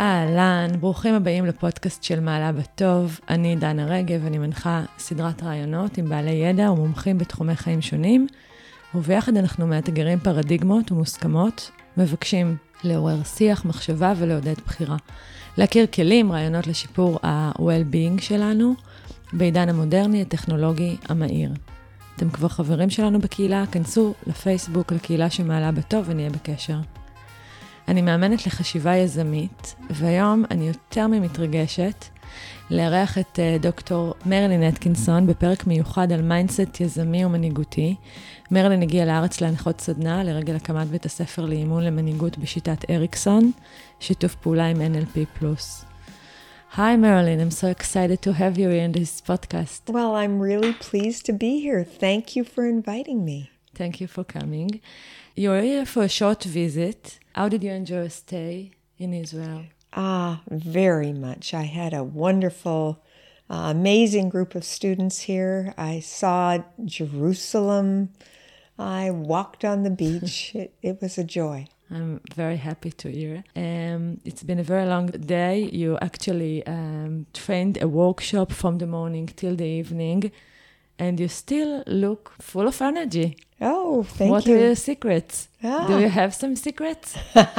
אהלן, ברוכים הבאים לפודקאסט של מעלה בטוב. אני דנה רגב, אני מנחה סדרת רעיונות עם בעלי ידע ומומחים בתחומי חיים שונים, וביחד אנחנו מאתגרים פרדיגמות ומוסכמות, מבקשים לעורר שיח, מחשבה ולעודד בחירה. להכיר כלים, רעיונות לשיפור ה-well-being שלנו, בעידן המודרני, הטכנולוגי, המהיר. אתם כבר חברים שלנו בקהילה, כנסו לפייסבוק, לקהילה שמעלה בטוב ונהיה בקשר. אני מאמנת לחשיבה יזמית, והיום אני יותר ממתרגשת לארח את דוקטור מרלין אטקינסון בפרק מיוחד על מיינדסט יזמי ומנהיגותי. מרלין הגיעה לארץ להנחות סדנה לרגל הקמת בית הספר לאימון למנהיגות בשיטת אריקסון, שיתוף פעולה עם NLP+. Hi Marilyn, I'm so excited to have you in this podcast. Well, I'm really pleased to be here. Thank you for inviting me. Thank you for coming. You're here for a short visit. How did you enjoy your stay in Israel? Very much. I had a wonderful, amazing group of students here. I saw Jerusalem. I walked on the beach. It was a joy. I'm very happy to hear. It's been a very long day. You actually trained a workshop from the morning till the evening, and you still look full of energy. Oh, thank you. What are your secrets? Do you have some secrets?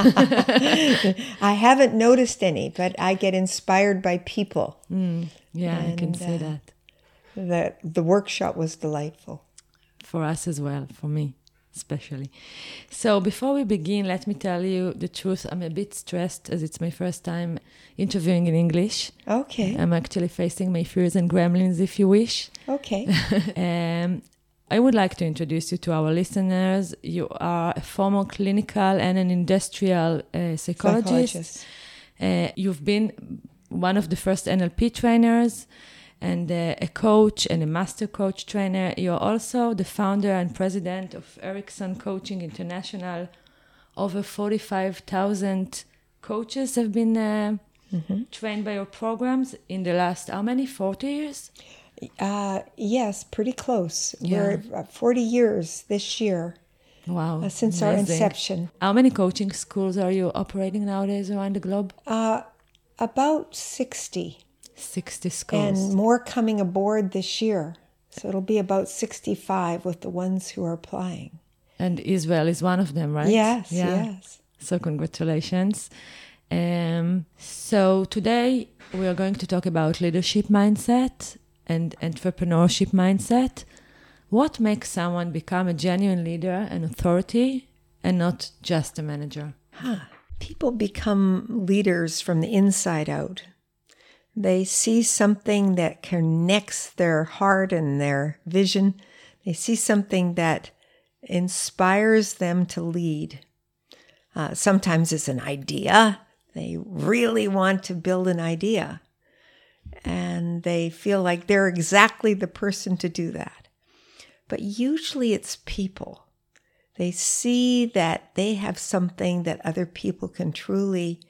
I haven't noticed any, but I get inspired by people. I can see that. The workshop was delightful. For us as well, for me especially. So before we begin, let me tell you the truth. I'm a bit stressed as it's my first time interviewing in English. Okay. I'm actually facing my fears and gremlins, if you wish. Okay. I would like to introduce you to our listeners. You are a former clinical and an industrial psychologist. You've been one of the first NLP trainers and a coach and a master coach trainer. You're also the founder and president of Erikson Coaching International. Over 45,000 coaches have been trained by your programs in the last, how many, 40 years? Yes, pretty close. Yeah. We're 40 years this year. Wow. Since amazing. our inception. How many coaching schools are you operating nowadays around the globe? About 60. 60 schools. And more coming aboard this year. So it'll be about 65 with the ones who are applying. And Israel is one of them, right? Yes, yeah. yes. So congratulations. So today we are going to talk about leadership mindset and entrepreneurship mindset. What makes someone become a genuine leader and authority and not just a manager? People become leaders from the inside out. They see something that connects their heart and their vision. They see something that inspires them to lead. Sometimes it's an idea. They really want to build an idea. And they feel like they're exactly the person to do that. But usually it's people. They see that they have something that other people can truly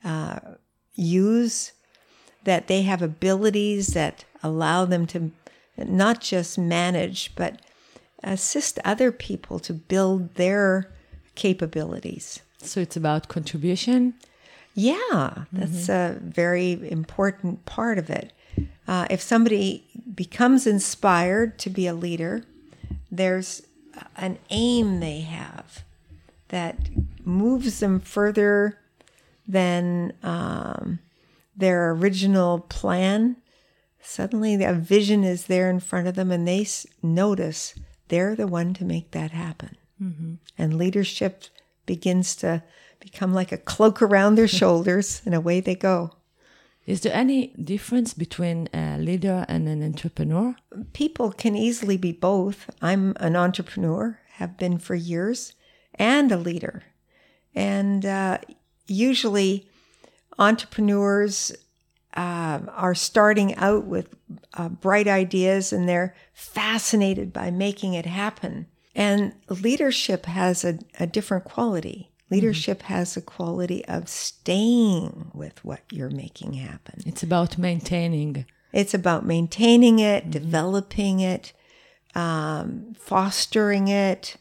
use, that they have abilities that allow them to not just manage, but assist other people to build their capabilities. So it's about contribution? Yeah, that's a very important part of it. If somebody becomes inspired to be a leader, there's an aim they have that moves them further than their original plan. Suddenly a vision is there in front of them and they notice they're the one to make that happen. And leadership begins to become like a cloak around their shoulders, and away they go. Is there any difference between a leader and an entrepreneur? People can easily be both. I'm an entrepreneur, have been for years, and a leader. And usually entrepreneurs are starting out with bright ideas, and they're fascinated by making it happen. And leadership has a different quality. Leadership has a quality of staying with what you're making happen. It's about maintaining. It's about maintaining it, developing it, fostering it,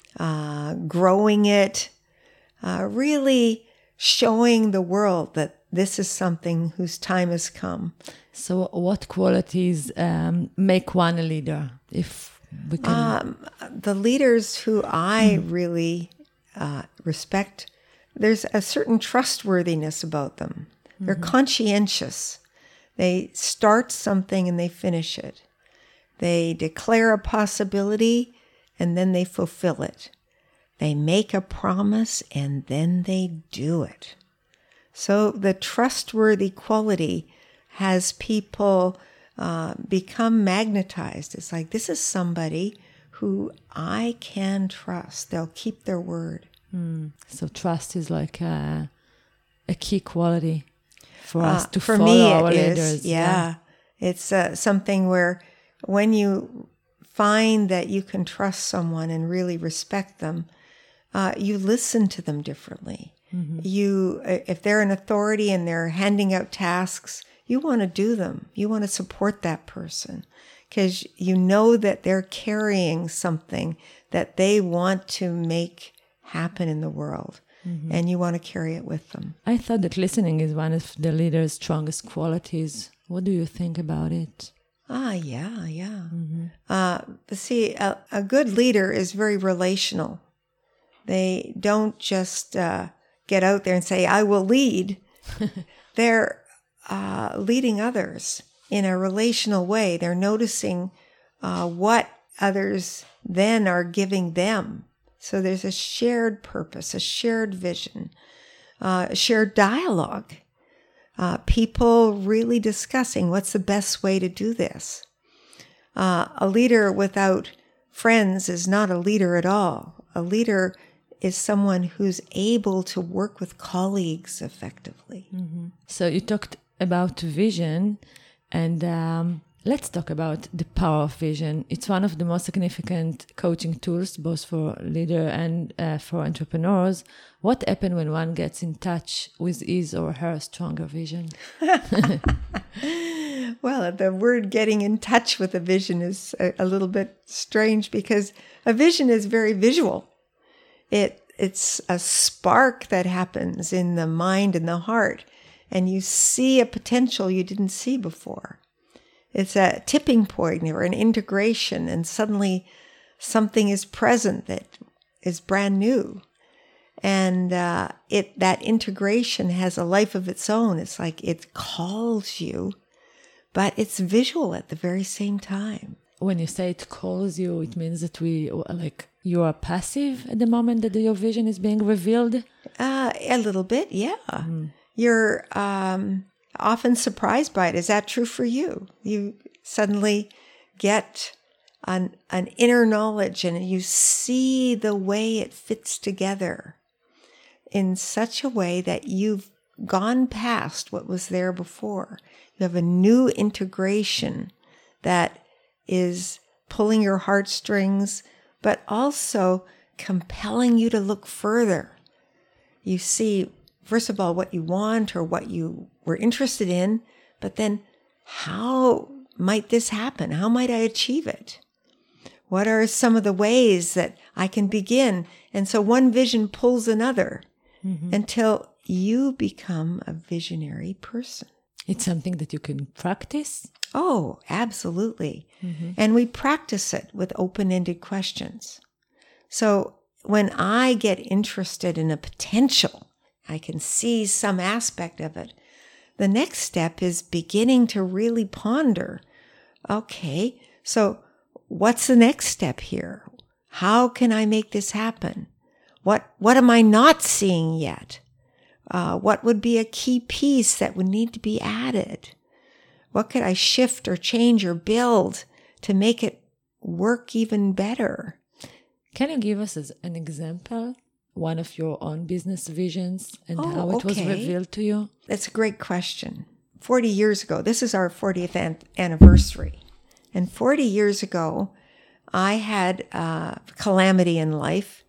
growing it, really showing the world that this is something whose time has come. So what qualities make one a leader? If we can... The leaders who I really respect, there's a certain trustworthiness about them. They're conscientious. They start something and they finish it. They declare a possibility and then they fulfill it. They make a promise and then they do it. So the trustworthy quality has people become magnetized. It's like, this is somebody who I can trust. They'll keep their word. So trust is like a key quality for us to for follow me, our it leaders. is. Yeah. It's something where when you find that you can trust someone and really respect them, you listen to them differently. You, if they're an authority and they're handing out tasks, you want to do them. You want to support that person because you know that they're carrying something that they want to make happen in the world, and you want to carry it with them. I thought that listening is one of the leader's strongest qualities. What do you think about it? Yeah. See, a good leader is very relational. They don't just get out there and say, I will lead. They're leading others in a relational way. They're noticing what others then are giving them. So there's a shared purpose, a shared vision, a shared dialogue. People really discussing what's the best way to do this. A leader without friends is not a leader at all. A leader is someone who's able to work with colleagues effectively. So you talked about vision, and let's talk about the power of vision. It's one of the most significant coaching tools, both for leader and for entrepreneurs. What happens when one gets in touch with his or her stronger vision? Well, the word getting in touch with a vision is a little bit strange because a vision is very visual. It's a spark that happens in the mind and the heart, and you see a potential you didn't see before. It's a tipping point or an integration, and suddenly something is present that is brand new. And that integration has a life of its own. It's like it calls you, but it's visual at the very same time. When you say it calls you, it means that you are passive at the moment that your vision is being revealed? A little bit, yeah. You're often surprised by it. Is that true for you? You suddenly get an inner knowledge and you see the way it fits together in such a way that you've gone past what was there before. You have a new integration that is pulling your heartstrings, but also compelling you to look further. You see, first of all, what you want or what you were interested in, but then how might this happen? How might I achieve it? What are some of the ways that I can begin? And so one vision pulls another until you become a visionary person. It's something that you can practice? Oh, absolutely. And we practice it with open-ended questions. So when I get interested in a potential, I can see some aspect of it. The next step is beginning to really ponder, okay, so what's the next step here? How can I make this happen? What am I not seeing yet? What would be a key piece that would need to be added? What could I shift or change or build to make it work even better? Can you give us an example, one of your own business visions and how it was revealed to you? That's a great question. 40 years ago, this is our 40th anniversary. And 40 years ago, I had a calamity in life.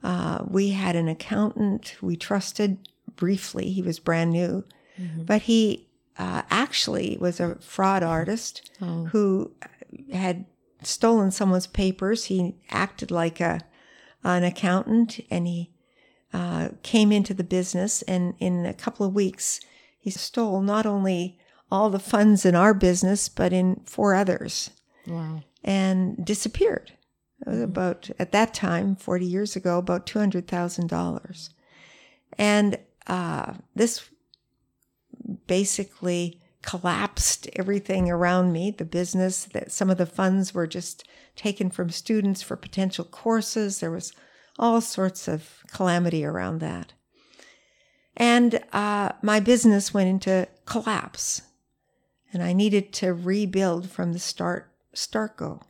We had an accountant we trusted briefly. He was brand new, but he actually was a fraud artist who had stolen someone's papers. He acted like an accountant, and he came into the business, and in a couple of weeks, he stole not only all the funds in our business, but in 4 others. Wow. And disappeared. It was about, at that time, 40 years ago, about $200,000. And this basically collapsed everything around me, the business, that some of the funds were just taken from students for potential courses. There was all sorts of calamity around that. And my business went into collapse. And I needed to rebuild from the start-go.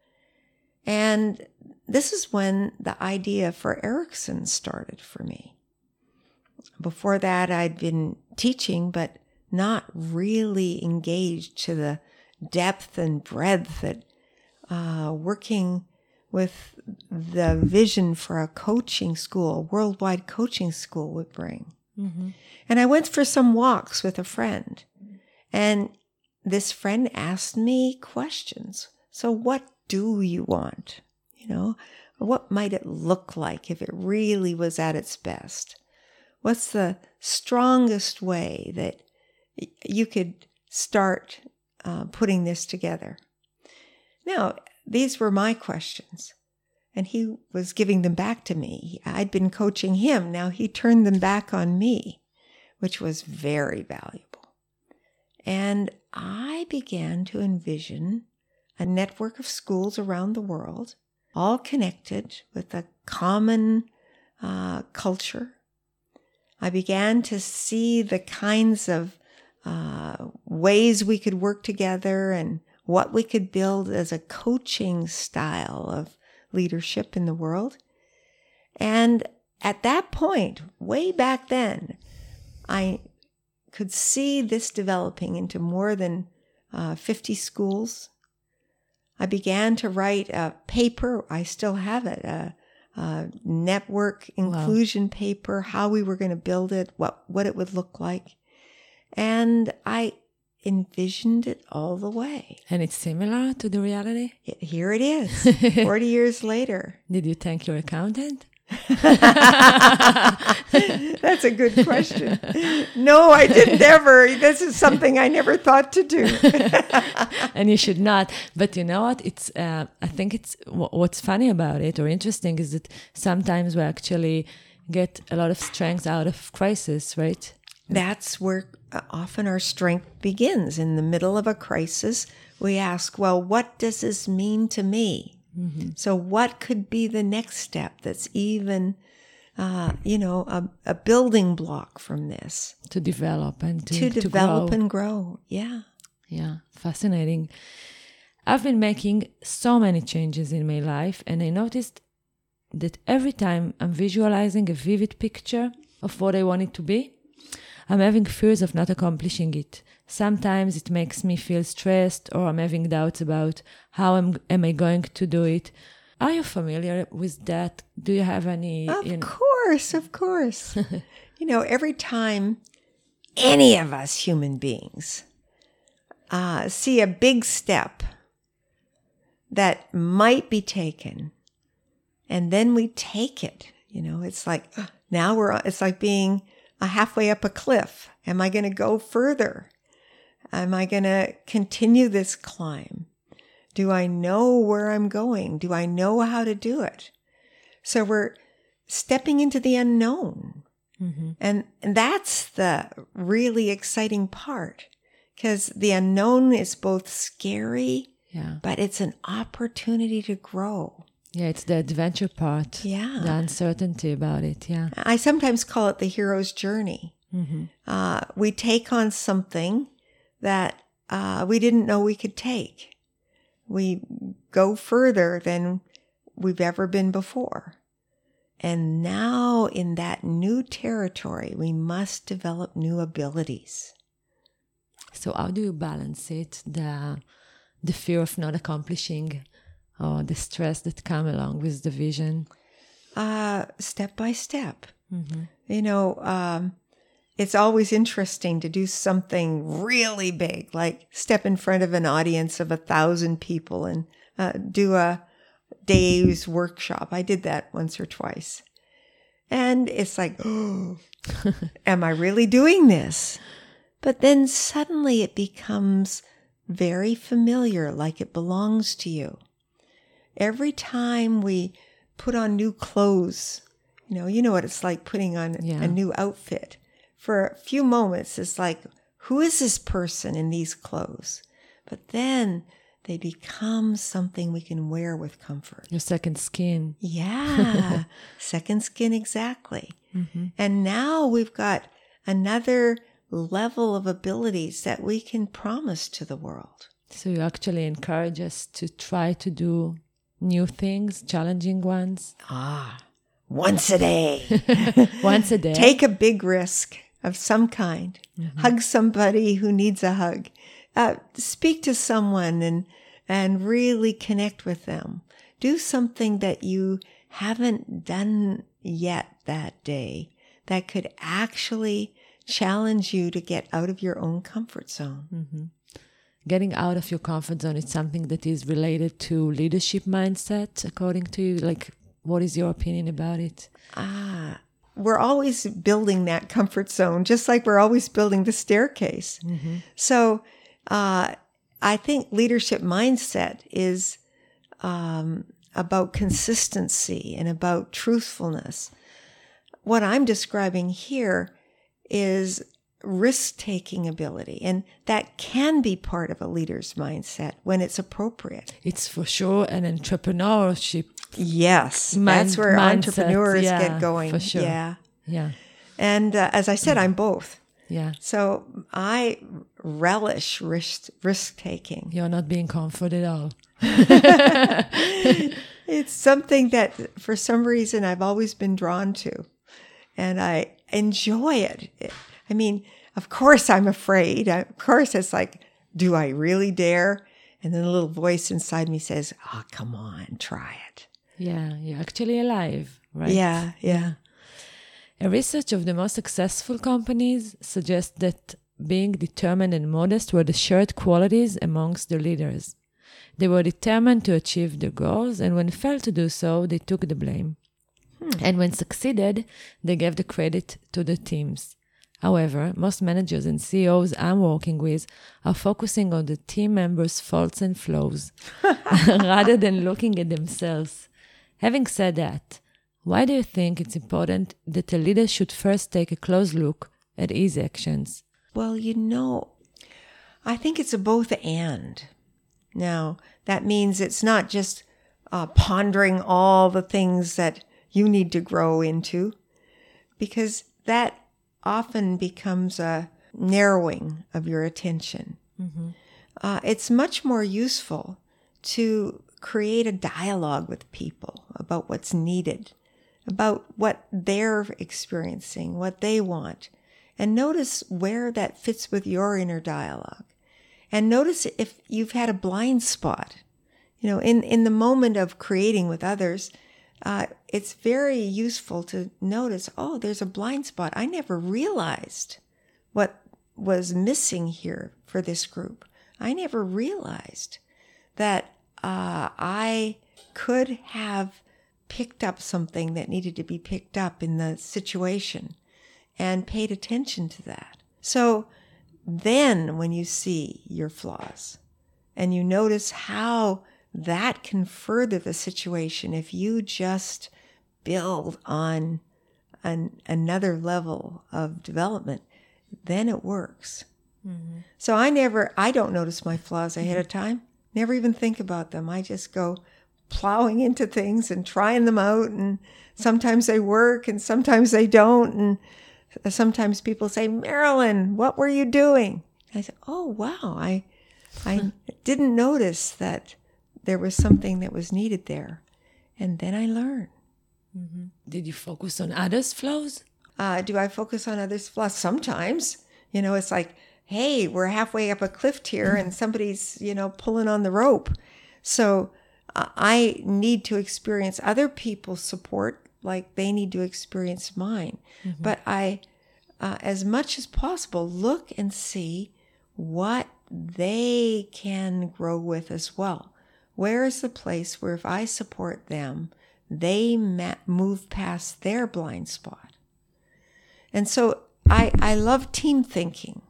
And this is when the idea for Erickson started for me. Before that, I'd been teaching, but not really engaged to the depth and breadth that working with the vision for a coaching school, a worldwide coaching school would bring. Mm-hmm. And I went for some walks with a friend, and this friend asked me questions. So what do you want? You know, what might it look like if it really was at its best? What's the strongest way that you could start putting this together? Now, these were my questions, and he was giving them back to me. I'd been coaching him. Now he turned them back on me, which was very valuable. And I began to envision a network of schools around the world, all connected with a common culture. I began to see the kinds of ways we could work together and what we could build as a coaching style of leadership in the world. And at that point, way back then, I could see this developing into more than 50 schools. I began to write a paper. I still have it, a network inclusion paper, how we were going to build it, what it would look like. And I envisioned it all the way. And it's similar to the reality? Here it is, 40 years later. Did you thank your accountant? That's a good question. No, I didn't ever. This is something I never thought to do. And you should not. But you know what? It's. I think it's what's funny about it or interesting is that sometimes we actually get a lot of strength out of crisis, right? That's where often our strength begins. In the middle of a crisis, we ask, well, what does this mean to me? Mm-hmm. So what could be the next step that's even, a building block from this? To develop and to develop grow. And grow. Yeah. Yeah. Fascinating. I've been making so many changes in my life, and I noticed that every time I'm visualizing a vivid picture of what I want it to be, I'm having fears of not accomplishing it. Sometimes it makes me feel stressed, or I'm having doubts about how am I going to do it. Are you familiar with that? Do you have any? Of course. Every time any of us human beings see a big step that might be taken, and then we take it, it's like it's like being halfway up a cliff. Am I going to go further? Am I going to continue this climb? Do I know where I'm going? Do I know how to do it? So we're stepping into the unknown. Mm-hmm. And that's the really exciting part, because the unknown is both scary, but it's an opportunity to grow. Yeah, it's the adventure part. Yeah. The uncertainty about it, yeah. I sometimes call it the hero's journey. Mm-hmm. We take on something that we didn't know we could take. We go further than we've ever been before. And now in that new territory, we must develop new abilities. So how do you balance it, the fear of not accomplishing, or the stress that come along with the vision? Step by step. Mm-hmm. It's always interesting to do something really big, like step in front of an audience of 1,000 people and do a day's workshop. I did that once or twice. And it's like, oh, am I really doing this? But then suddenly it becomes very familiar, like it belongs to you. Every time we put on new clothes, you know what it's like putting on a new outfit. For a few moments, it's like, who is this person in these clothes? But then they become something we can wear with comfort. Your second skin. Yeah, second skin, exactly. And now we've got another level of abilities that we can promise to the world. So you actually encourage us to try to do new things, challenging ones. Once a day. Once a day. Take a big risk of some kind. Hug somebody who needs a hug. Speak to someone and really connect with them. Do something that you haven't done yet that day that could actually challenge you to get out of your own comfort zone. Getting out of your comfort zone is something that is related to leadership mindset, according to you. Like, what is your opinion about it? We're always building that comfort zone, just like we're always building the staircase. So I think leadership mindset is about consistency and about truthfulness. What I'm describing here is risk-taking ability, and that can be part of a leader's mindset when it's appropriate. It's for sure an entrepreneurship. Yes, that's where entrepreneurs mindset. get going. For sure. Yeah. And as I said, I'm both. Yeah. So I relish risk-taking. You're not being comforted at all. It's something that for some reason I've always been drawn to, and I enjoy it. I mean, of course I'm afraid. Of course it's like, do I really dare? And then a little voice inside me says, come on, try it. Yeah, you're actually alive, right? Yeah. A research of the most successful companies suggests that being determined and modest were the shared qualities amongst the leaders. They were determined to achieve their goals, and when failed to do so, they took the blame. And when succeeded, they gave the credit to the teams. However, most managers and CEOs I'm working with are focusing on the team members' faults and flaws rather than looking at themselves. Having said that, why do you think it's important that a leader should first take a close look at his actions? Well, I think it's a both and. Now, that means it's not just pondering all the things that you need to grow into, because that often becomes a narrowing of your attention. It's much more useful to create a dialogue with people about what's needed, about what they're experiencing, what they want, and notice where that fits with your inner dialogue. And notice if you've had a blind spot. In the moment of creating with others, it's very useful to notice, there's a blind spot. I never realized what was missing here for this group. I never realized that I could have picked up something that needed to be picked up in the situation and paid attention to that. So then when you see your flaws and you notice how that can further the situation if you just build on another level of development, then it works. So I don't notice my flaws ahead of time, never even think about them. I just go plowing into things and trying them out, and sometimes they work and sometimes they don't. And sometimes people say, Marilyn, what were you doing? And I say, oh, wow, I didn't notice that there was something that was needed there. And then I learn. Did you focus on others' flaws? Do I focus on others' flaws? Sometimes. It's like, hey, we're halfway up a cliff here and somebody's, pulling on the rope. So I need to experience other people's support like they need to experience mine. But I, as much as possible, look and see what they can grow with as well. Where is the place where if I support them, they move past their blind spot? And so I love team thinking.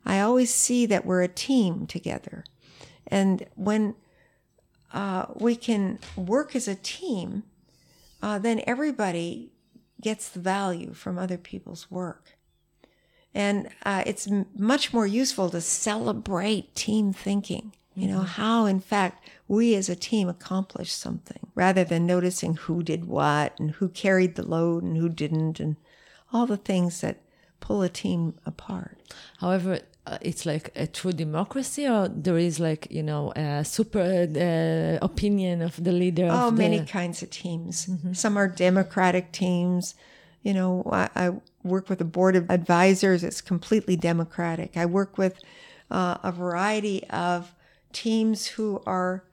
I always see that we're a team together. And when we can work as a team, then everybody gets the value from other people's work. And it's much more useful to celebrate team thinking, you know, how, in fact, we as a team accomplished something, rather than noticing who did what and who carried the load and who didn't, and all the things that pull a team apart. However, it's like a true democracy, or there is like, you know, a super opinion of the leader? Oh, many kinds of teams. Some are democratic teams. You know, I work with a board of advisors. It's completely democratic. I work with a variety of teams who are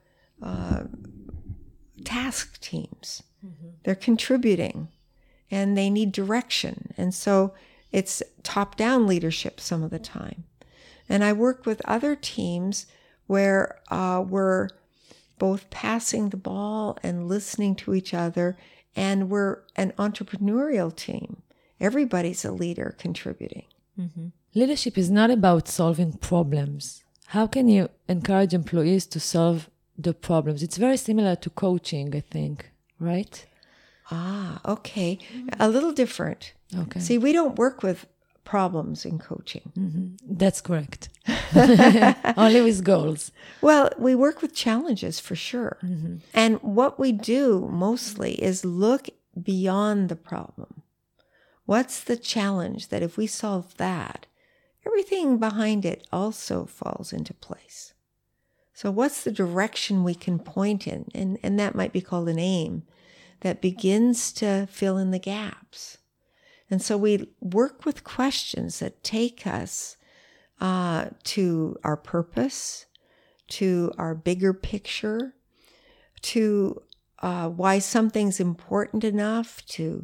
task teams. They're contributing and they need direction. And so it's top-down leadership some of the time. And I work with other teams where we're both passing the ball and listening to each other, and we're an entrepreneurial team. Everybody's a leader contributing. Leadership is not about solving problems. How can you encourage employees to solve the problems? It's very similar to coaching, I think, right? Ah, okay. A little different. Okay. See, we don't work with problems in coaching. That's correct. Only with goals. Well, we work with challenges for sure. And what we do mostly is look beyond the problem. What's the challenge that if we solve that, everything behind it also falls into place? So what's the direction we can point in? And that might be called an aim that begins to fill in the gaps. And so we work with questions that take us to our purpose, to our bigger picture, to why something's important enough to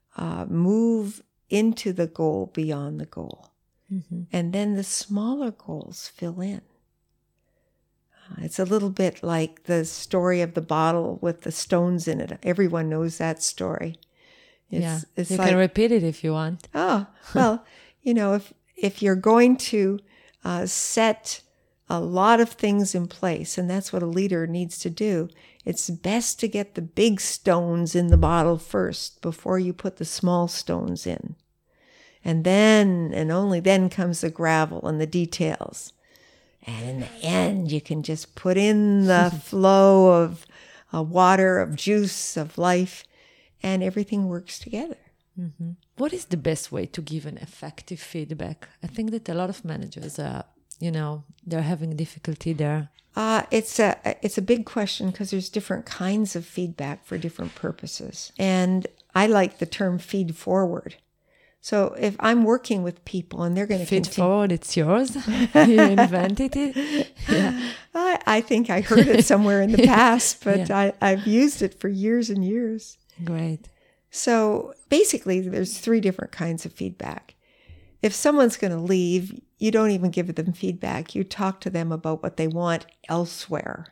move into the goal beyond the goal. And then the smaller goals fill in. It's a little bit like the story of the bottle with the stones in it. Everyone knows that story. It's you can repeat it if you want. Oh, well, you know, if you're going to set a lot of things in place, and that's what a leader needs to do, it's best to get the big stones in the bottle first before you put the small stones in. And then, and only then, comes the gravel and the details. And in the end, you can just put in the flow of water, of juice, of life, and everything works together. What is the best way to give an effective feedback? I think that a lot of managers are, you know, they're having difficulty there. It's a big question because there's different kinds of feedback for different purposes. And I like the term feed forward. So if I'm working with people and they're going to feed forward, it's yours. You invented it. Yeah. I think I heard it somewhere in the past, but I've used it for years and years. Great. So basically, there's 3 different kinds of feedback. If someone's going to leave, you don't even give them feedback. You talk to them about what they want elsewhere.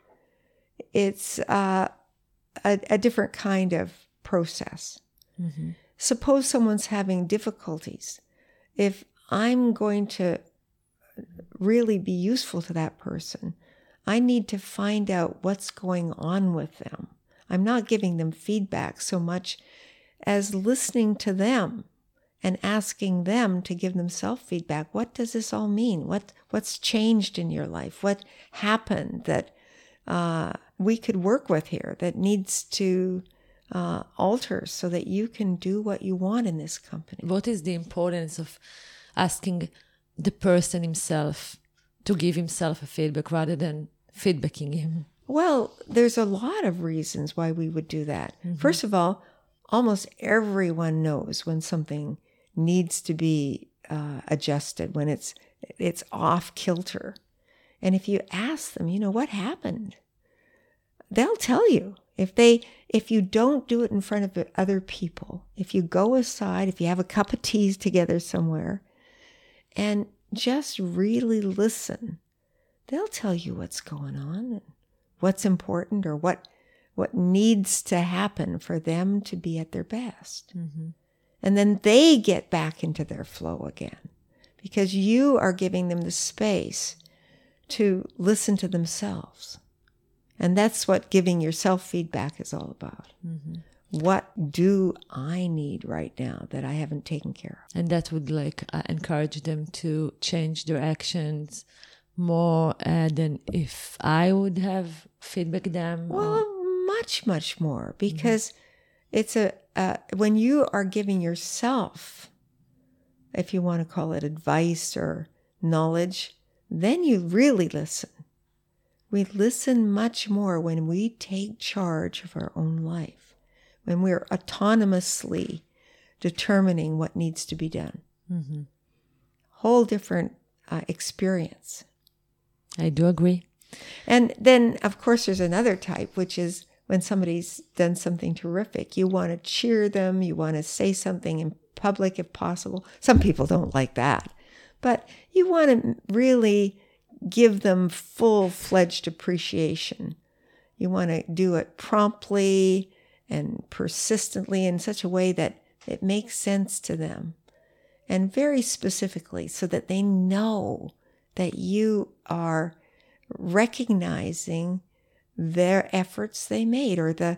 It's a different kind of process. Suppose someone's having difficulties. If I'm going to really be useful to that person, I need to find out what's going on with them. I'm not giving them feedback so much as listening to them and asking them to give themselves feedback. What does this all mean? What's changed in your life? What happened that we could work with here that needs to alter so that you can do what you want in this company? What is the importance of asking the person himself to give himself a feedback rather than feedbacking him? Well, there's a lot of reasons why we would do that. First of all, almost everyone knows when something needs to be adjusted, when it's off kilter. And if you ask them, you know, what happened? They'll tell you. If you don't do it in front of other people, if you go aside, if you have a cup of tea together somewhere, and just really listen, they'll tell you what's going on and what's important or what needs to happen for them to be at their best. And then they get back into their flow again because you are giving them the space to listen to themselves. And that's what giving yourself feedback is all about. Mm-hmm. What do I need right now that I haven't taken care of? And that would encourage them to change their actions more than if I would have feedback them. Well, much, much more, because it's when you are giving yourself, if you want to call it advice or knowledge, then you really listen. We listen much more when we take charge of our own life, when we're autonomously determining what needs to be done. Mm-hmm. Whole different experience. I do agree. And then, of course, there's another type, which is when somebody's done something terrific. You want to cheer them. You want to say something in public if possible. Some people don't like that. But you want to really give them full-fledged appreciation. You want to do it promptly and persistently in such a way that it makes sense to them. And very specifically, so that they know that you are recognizing their efforts they made or the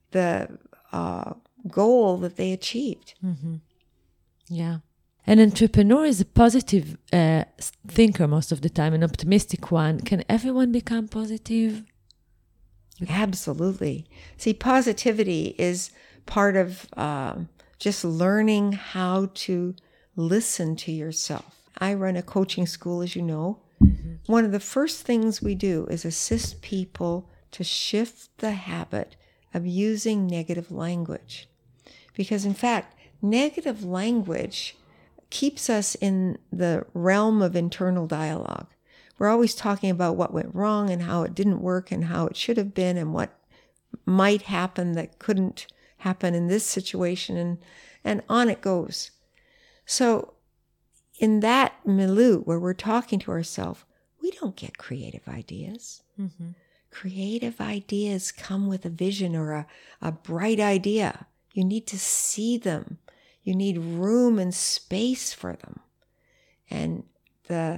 goal that they achieved. Mm-hmm. Yeah. An entrepreneur is a positive thinker most of the time, an optimistic one. Can everyone become positive? Absolutely. See, positivity is part of just learning how to listen to yourself. I run a coaching school, as you know. Mm-hmm. One of the first things we do is assist people to shift the habit of using negative language. Because, in fact, negative language keeps us in the realm of internal dialogue. We're always talking about what went wrong and how it didn't work and how it should have been and what might happen that couldn't happen in this situation, and on it goes. So in that milieu where we're talking to ourselves, we don't get creative ideas. Mm-hmm. Creative ideas come with a vision or a bright idea. You need to see them. You need room and space for them. And the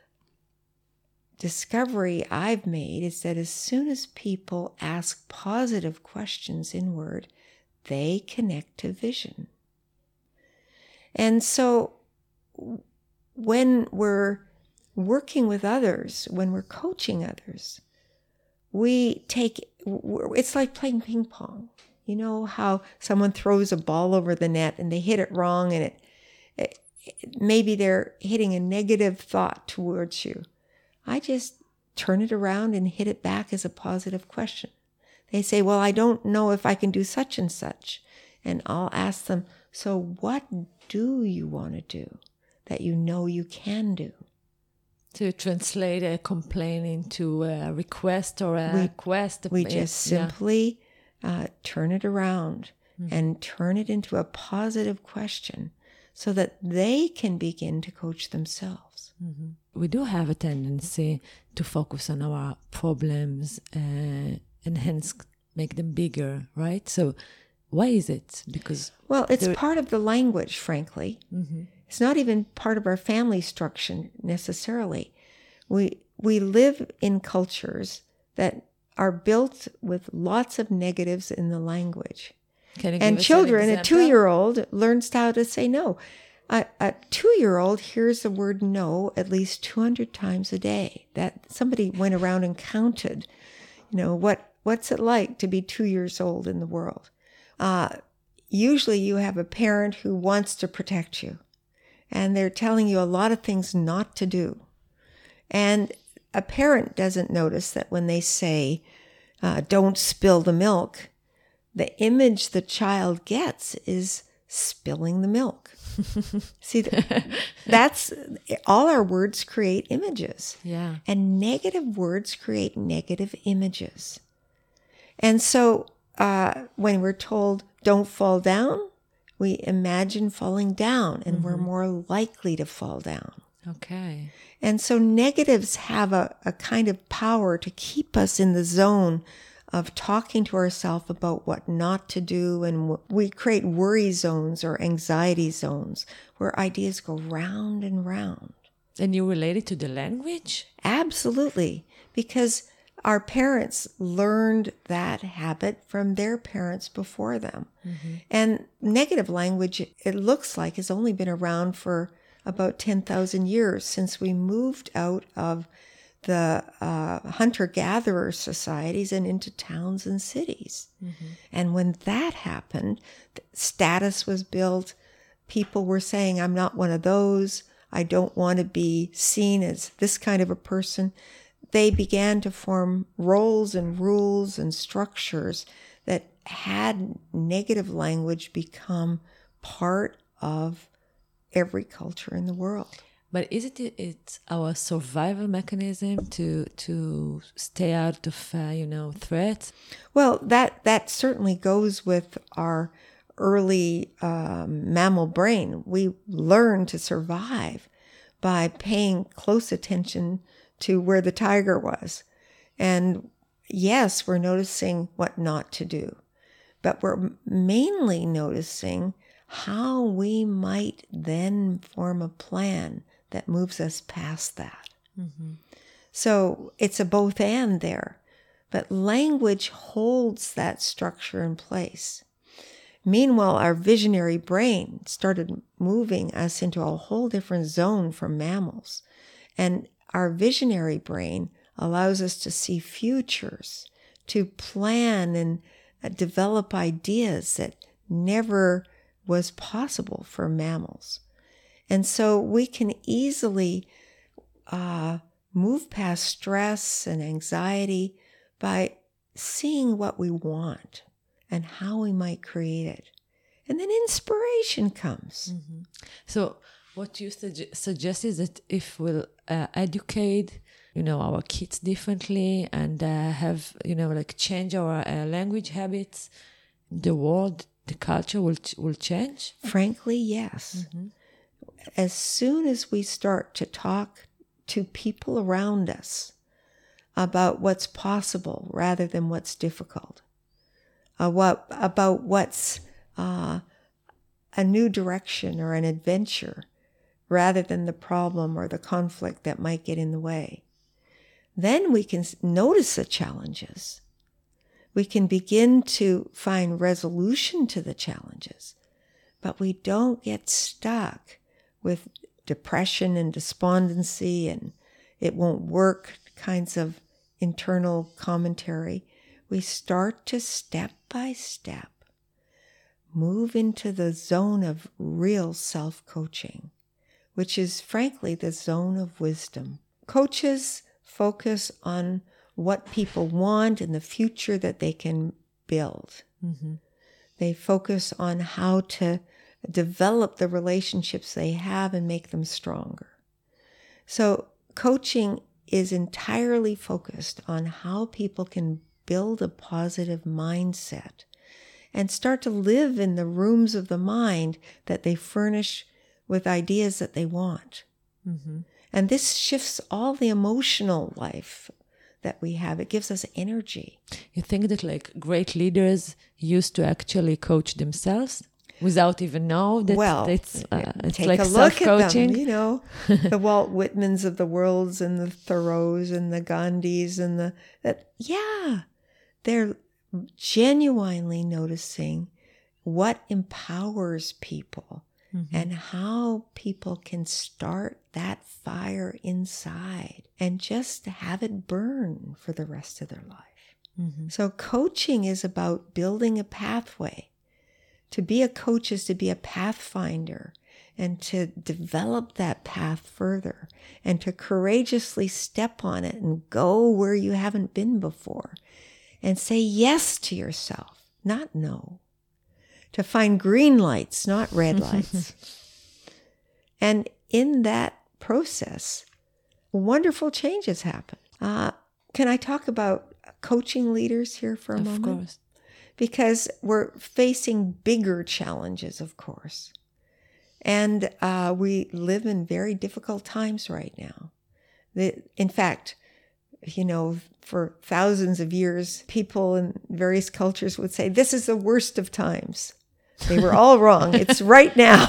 discovery I've made is that as soon as people ask positive questions inward, they connect to vision. And so when we're working with others, when we're coaching others, it's like playing ping pong. You know how someone throws a ball over the net and they hit it wrong and maybe they're hitting a negative thought towards you. I just turn it around and hit it back as a positive question. They say, well, I don't know if I can do such and such. And I'll ask them, so what do you want to do that you know you can do? To translate a complaint into a request or a request. We just simply turn it around and turn it into a positive question so that they can begin to coach themselves. Mm-hmm. We do have a tendency to focus on our problems and hence make them bigger, right? So why is it? Because it's part of the language, frankly. Mm-hmm. It's not even part of our family structure necessarily. We live in cultures that are built with lots of negatives in the language. And children, a 2-year-old learns how to say no. A 2-year-old hears the word no at least 200 times a day. That somebody went around and counted, what's it like to be 2 years old in the world? Usually you have a parent who wants to protect you, and they're telling you a lot of things not to do. And a parent doesn't notice that when they say, don't spill the milk, the image the child gets is spilling the milk. See, that's all our words create images. Yeah. And negative words create negative images. And so when we're told don't fall down, we imagine falling down and we're more likely to fall down. Okay. And so negatives have a kind of power to keep us in the zone of talking to ourselves about what not to do. And we create worry zones or anxiety zones where ideas go round and round. And you relate it to the language? Absolutely. Because our parents learned that habit from their parents before them. Mm-hmm. And negative language, it looks like, has only been around for about 10,000 years since we moved out of the hunter-gatherer societies and into towns and cities. Mm-hmm. And when that happened, status was built. People were saying, I'm not one of those. I don't want to be seen as this kind of a person. They began to form roles and rules and structures that had negative language become part of every culture in the world. But it's our survival mechanism to stay out of threats? Well, that certainly goes with our early mammal brain. We learn to survive by paying close attention to where the tiger was. And yes, we're noticing what not to do, but we're mainly noticing how we might then form a plan that moves us past that. Mm-hmm. So it's a both and there, but language holds that structure in place. Meanwhile, our visionary brain started moving us into a whole different zone from mammals. And our visionary brain allows us to see futures, to plan and develop ideas that never was possible for mammals. And so we can easily move past stress and anxiety by seeing what we want and how we might create it. And then inspiration comes. Mm-hmm. So what you suggest is that if we'll educate, our kids differently and have, change our language habits, the world, the culture will change? Frankly, yes. Mm-hmm. As soon as we start to talk to people around us about what's possible rather than what's difficult, about what's a new direction or an adventure rather than the problem or the conflict that might get in the way, then we can notice the challenges. We can begin to find resolution to the challenges, but we don't get stuck with depression and despondency and it won't work kinds of internal commentary. We start to step by step move into the zone of real self-coaching, which is frankly the zone of wisdom. Coaches focus on what people want and the future that they can build. Mm-hmm. They focus on how to develop the relationships they have and make them stronger. So coaching is entirely focused on how people can build a positive mindset and start to live in the rooms of the mind that they furnish with ideas that they want. Mm-hmm. And this shifts all the emotional life that we have. It gives us energy. You think that like great leaders used to actually coach themselves without even know that it's take like a look at them, self-coaching? the Walt Whitmans of the worlds and the Thoreaus and the Gandhis and they're genuinely noticing what empowers people. Mm-hmm. And how people can start that fire inside and just have it burn for the rest of their life. Mm-hmm. So coaching is about building a pathway. To be a coach is to be a pathfinder and to develop that path further and to courageously step on it and go where you haven't been before and say yes to yourself, not no. To find green lights, not red lights. And in that process, wonderful changes happen. Can I talk about coaching leaders here for a moment? Of course. Because we're facing bigger challenges, of course. And we live in very difficult times right now. In fact, for thousands of years, people in various cultures would say, this is the worst of times. They were all wrong. It's right now.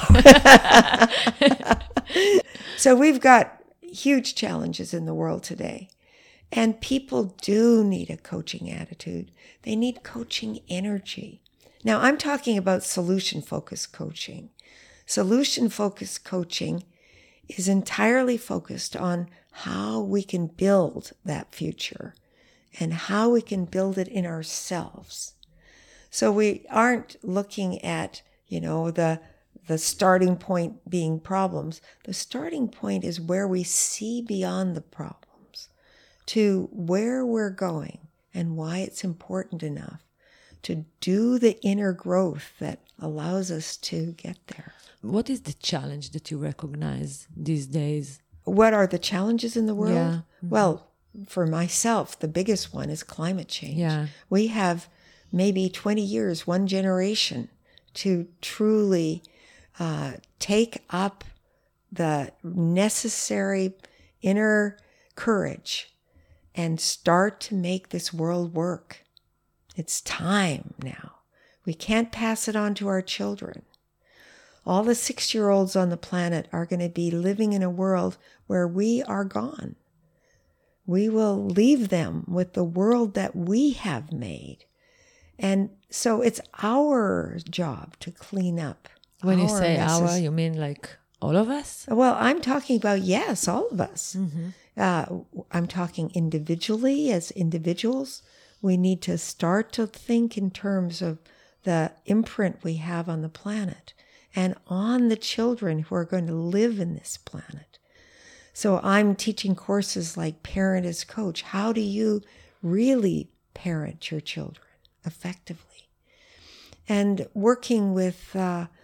So we've got huge challenges in the world today. And people do need a coaching attitude. They need coaching energy. Now, I'm talking about solution-focused coaching. Solution-focused coaching is entirely focused on how we can build that future and how we can build it in ourselves. So we aren't looking at, the starting point being problems. The starting point is where we see beyond the problems to where we're going and why it's important enough to do the inner growth that allows us to get there. What is the challenge that you recognize these days? What are the challenges in the world? Yeah. Mm-hmm. Well, for myself, the biggest one is climate change. Yeah. We have maybe 20 years, one generation, to truly take up the necessary inner courage and start to make this world work. It's time now. We can't pass it on to our children. All the 6-year-olds on the planet are going to be living in a world where we are gone. We will leave them with the world that we have made. And so it's our job to clean up. When you say messes. our, you mean like all of us? Well, I'm talking about, yes, all of us. Mm-hmm. I'm talking individually as individuals. We need to start to think in terms of the imprint we have on the planet and on the children who are going to live in this planet. So I'm teaching courses like Parent as Coach. How do you really parent your children effectively? And working with,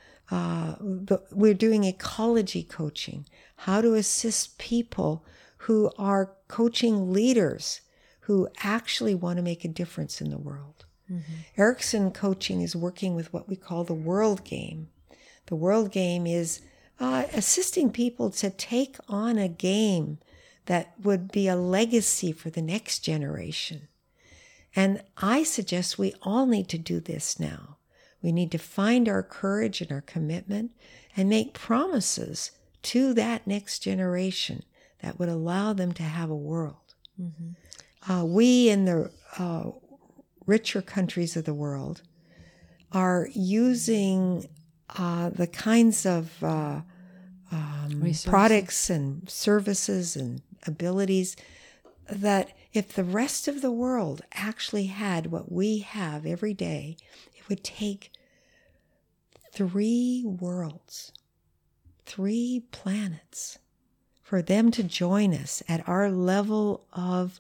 we're doing ecology coaching, how to assist people who are coaching leaders who actually want to make a difference in the world. Mm-hmm. Erickson Coaching is working with what we call the World Game. The World Game is assisting people to take on a game that would be a legacy for the next generation. And I suggest we all need to do this now. We need to find our courage and our commitment and make promises to that next generation that would allow them to have a world. Mm-hmm. We in the richer countries of the world are using the kinds of products and services and abilities that if the rest of the world actually had what we have every day, it would take 3 worlds, 3 planets for them to join us at our level of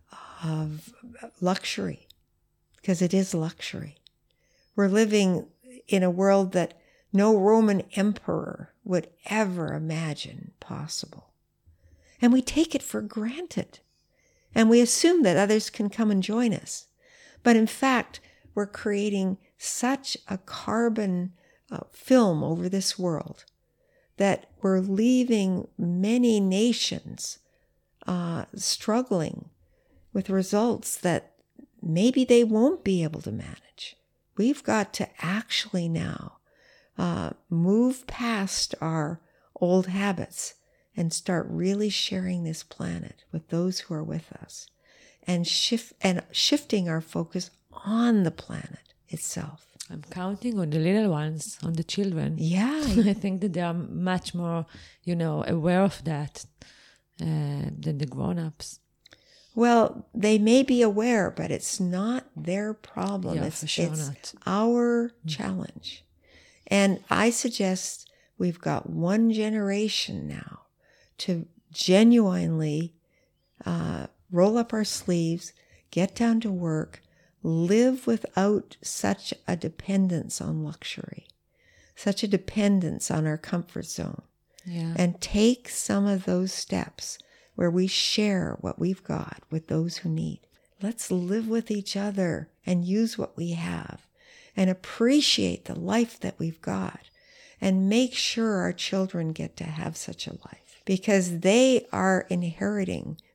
luxury, because it is luxury. We're living in a world that no Roman emperor would ever imagine possible. And we take it for granted. And we assume that others can come and join us. But in fact, we're creating such a carbon film over this world that we're leaving many nations struggling with results that maybe they won't be able to manage. We've got to actually now move past our old habits and start really sharing this planet with those who are with us and shifting our focus on the planet itself. I'm counting on the little ones, on the children. Yeah. I think that they are much more, aware of that than the grown-ups. Well, they may be aware, but it's not their problem. Yeah, for sure not. Our challenge. And I suggest we've got one generation now to genuinely roll up our sleeves, get down to work, live without such a dependence on luxury, such a dependence on our comfort zone, and take some of those steps where we share what we've got with those who need. Let's live with each other and use what we have and appreciate the life that we've got and make sure our children get to have such a life, because they are inheriting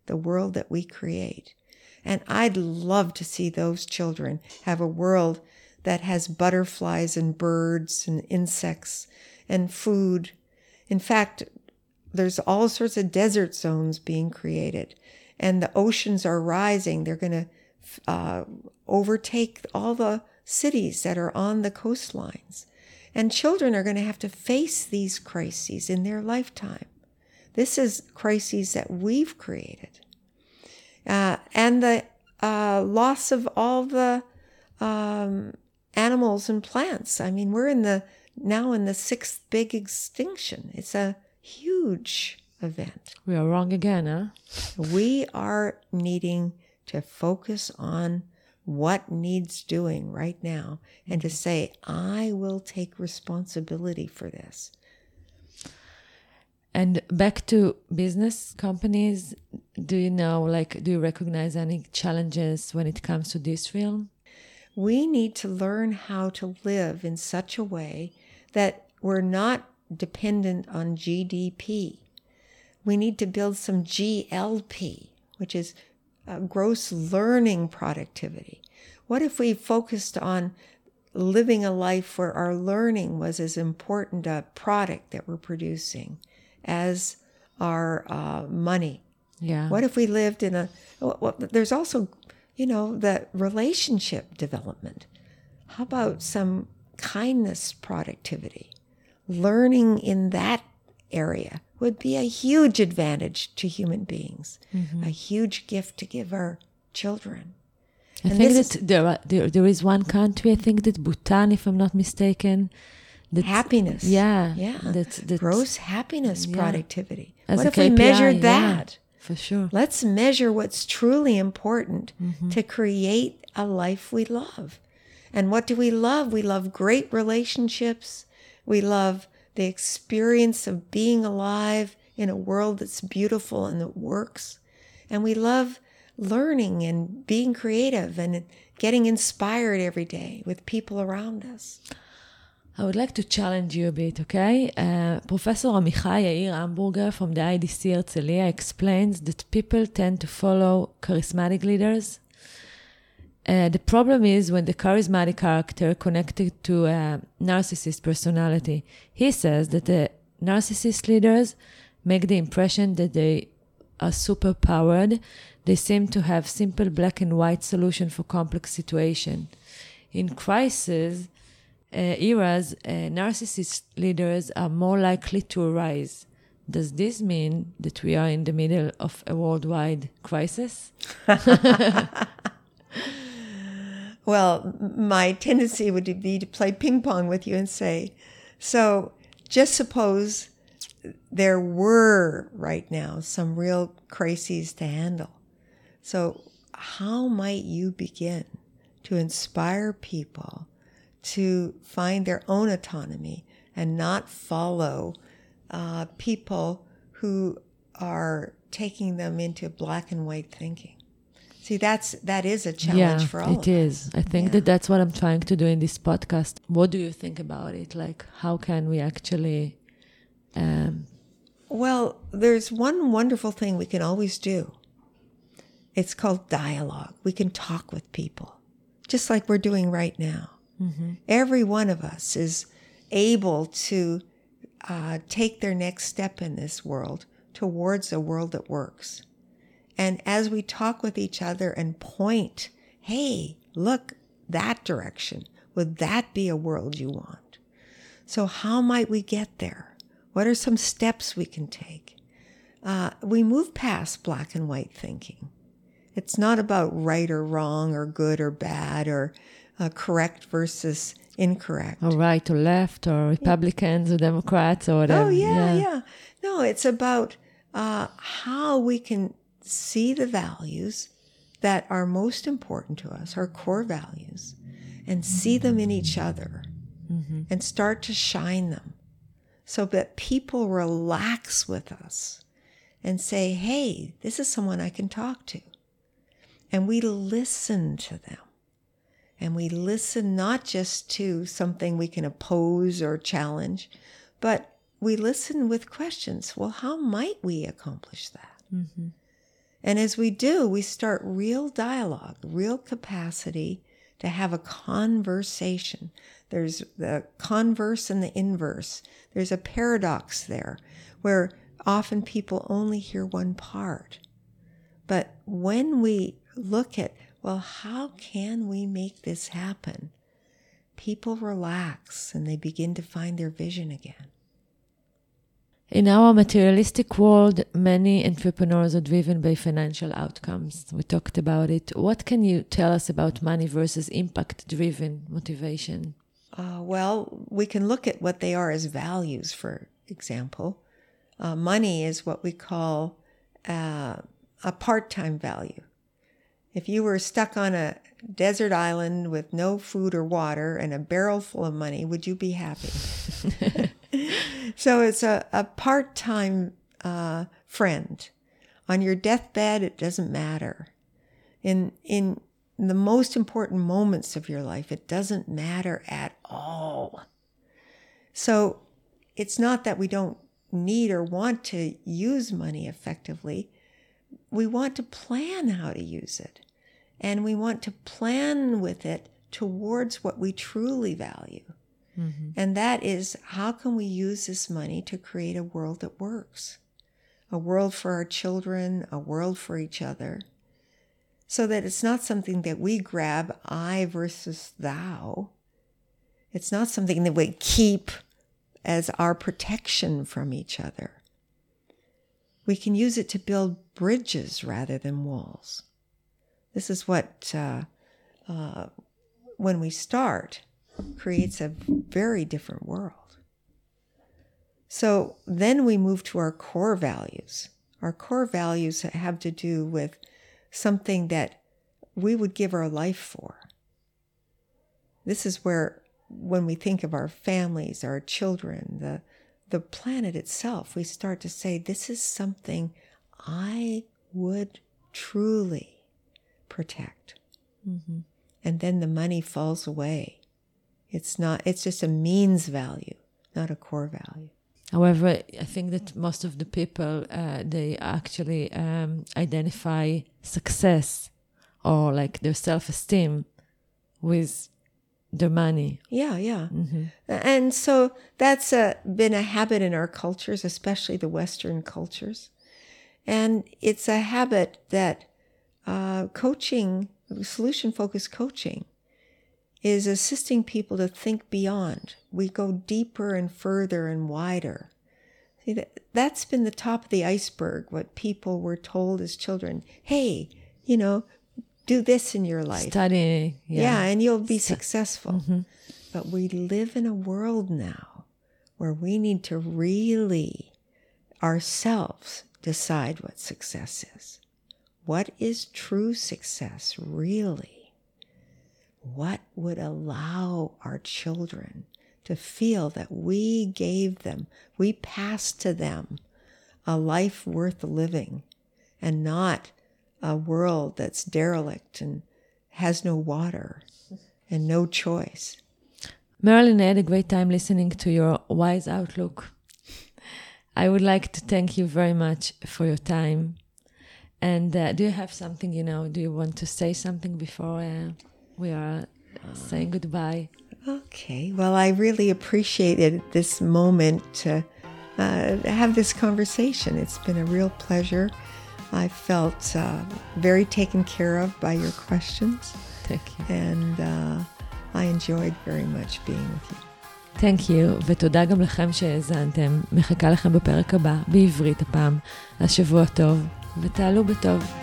the world that we create. And I'd love to see those children have a world that has butterflies and birds and insects and food. In fact, there's all sorts of desert zones being created, and the oceans are rising. They're going to overtake all the cities that are on the coastlines. And children are going to have to face these crises in their lifetime. This is crises that we've created. And the loss of all the animals and plants. I mean, we're now in the 6th big extinction. It's a huge event. We are wrong again, huh? We are needing to focus on what needs doing right now and to say, I will take responsibility for this. And back to business companies, do you recognize any challenges when it comes to this realm? We need to learn how to live in such a way that we're not dependent on GDP. We need to build some GLP, which is gross learning productivity. What if we focused on living a life where our learning was as important a product that we're producing as our money? Yeah. What if we lived in there's also, the relationship development. How about some kindness productivity? Learning in that area would be a huge advantage to human beings, a huge gift to give our children. I think that there is one country, I think that Bhutan, if I'm not mistaken. Happiness. Yeah. That's gross happiness productivity. As what if KPI, we measured that? Yeah, for sure. Let's measure what's truly important to create a life we love. And what do we love? We love great relationships. We love the experience of being alive in a world that's beautiful and that works. And we love learning and being creative and getting inspired every day with people around us. I would like to challenge you a bit, okay? Professor Amichai Yair Hamburger from the IDC Herzliya explains that people tend to follow charismatic leaders. The problem is when the charismatic character connected to a narcissist personality. He says that the narcissist leaders make the impression that they are super-powered. They seem to have simple black and white solution for complex situation. In crisis eras, narcissist leaders are more likely to arise. Does this mean that we are in the middle of a worldwide crisis? Well, my tendency would be to play ping pong with you and say, so just suppose there were right now some real crises to handle. So how might you begin to inspire people to find their own autonomy and not follow people who are taking them into black and white thinking? See, that is a challenge for all of us. It is. I think that's what I'm trying to do in this podcast. What do you think about it? Like, how can we actually... Well, there's one wonderful thing we can always do. It's called dialogue. We can talk with people, just like we're doing right now. Mm-hmm. Every one of us is able to take their next step in this world towards a world that works. And as we talk with each other and point, hey, look, that direction, would that be a world you want? So how might we get there? What are some steps we can take? We move past black and white thinking. It's not about right or wrong or good or bad or correct versus incorrect. Or right or left or Republicans or Democrats or whatever. Oh, yeah. No, it's about how we can see the values that are most important to us, our core values, and see them in each other and start to shine them so that people relax with us and say, hey, this is someone I can talk to. And we listen to them. And we listen not just to something we can oppose or challenge, but we listen with questions. Well, how might we accomplish that? Mm-hmm. And as we do, we start real dialogue, real capacity to have a conversation. There's the converse and the inverse. There's a paradox there where often people only hear one part. But when we look at, well, how can we make this happen? People relax and they begin to find their vision again. In our materialistic world, many entrepreneurs are driven by financial outcomes. We talked about it. What can you tell us about money versus impact-driven motivation? Well, we can look at what they are as values, for example. Money is what we call a part-time value. If you were stuck on a desert island with no food or water and a barrel full of money, would you be happy? So it's a part-time friend. On your deathbed, it doesn't matter. In the most important moments of your life, it doesn't matter at all. So it's not that we don't need or want to use money effectively. We want to plan how to use it. And we want to plan with it towards what we truly value. Mm-hmm. And that is, how can we use this money to create a world that works? A world for our children, a world for each other. So that it's not something that we grab, I versus thou. It's not something that we keep as our protection from each other. We can use it to build bridges rather than walls. This is what, when we start, creates a very different world. So then we move to our core values. Our core values have to do with something that we would give our life for. This is where, when we think of our families, our children, the planet itself, we start to say, this is something I would truly protect. Mm-hmm. And then the money falls away. It's just a means value, not a core value. However, I think that most of the people, they actually identify success or like their self-esteem with their money. Yeah. Mm-hmm. And so that's been a habit in our cultures, especially the Western cultures. And it's a habit that coaching, solution-focused coaching, is assisting people to think beyond. We go deeper and further and wider. See, that's been the top of the iceberg, what people were told as children. Hey, do this in your life. Study. Yeah, and you'll be successful. Mm-hmm. But we live in a world now where we need to really ourselves decide what success is. What is true success, really? What would allow our children to feel that we gave them, we passed to them a life worth living and not a world that's derelict and has no water and no choice. Marilyn, I had a great time listening to your wise outlook. I would like to thank you very much for your time. And do you have something, do you want to say something before we are saying goodbye? Okay. Well, I really appreciated this moment to have this conversation. It's been a real pleasure. I felt very taken care of by your questions. Thank you. And I enjoyed very much being with you. Thank you, ותודה גם לכם שהאזנתם. מחכה לכם בפרק הבא, בעברית הפעם. השבוע טוב, ותעלו בטוב.